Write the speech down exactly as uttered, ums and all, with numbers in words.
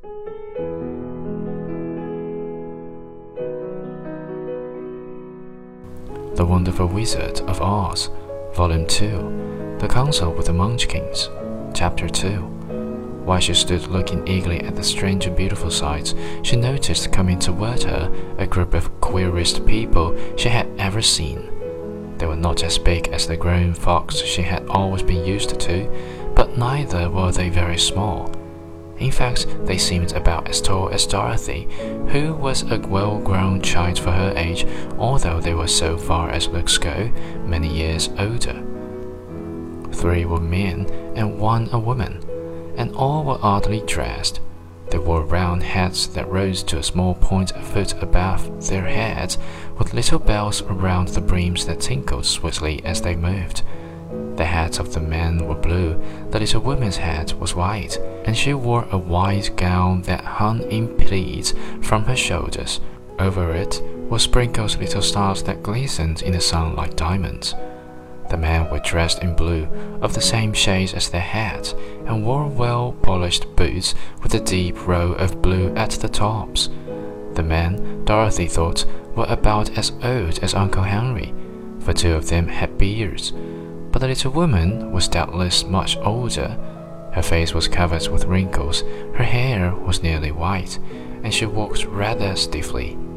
The Wonderful Wizard of Oz, Volume two, The Council with the Munchkins, Chapter two. While she stood looking eagerly at the strange and beautiful sights, she noticed coming toward her a group of queerest people she had ever seen. They were not as big as the grown folks she had always been used to, but neither were they very small. In fact, they seemed about as tall as Dorothy, who was a well-grown child for her age, although they were, so far as looks go, many years older. Three were men and one a woman, and all were oddly dressed. They wore round hats that rose to a small point a foot above their heads, with little bells around the brims that tinkled sweetly as they moved. The hats of the men were blue, the little woman's hat was white, and she wore a white gown that hung in pleats from her shoulders. Over it were sprinkled little stars that glistened in the sun like diamonds. The men were dressed in blue, of the same shades as their hats, and wore well-polished boots with a deep row of blue at the tops. The men, Dorothy thought, were about as old as Uncle Henry, for two of them had beards. But the little woman was doubtless much older. Her face was covered with wrinkles, her hair was nearly white, and she walked rather stiffly.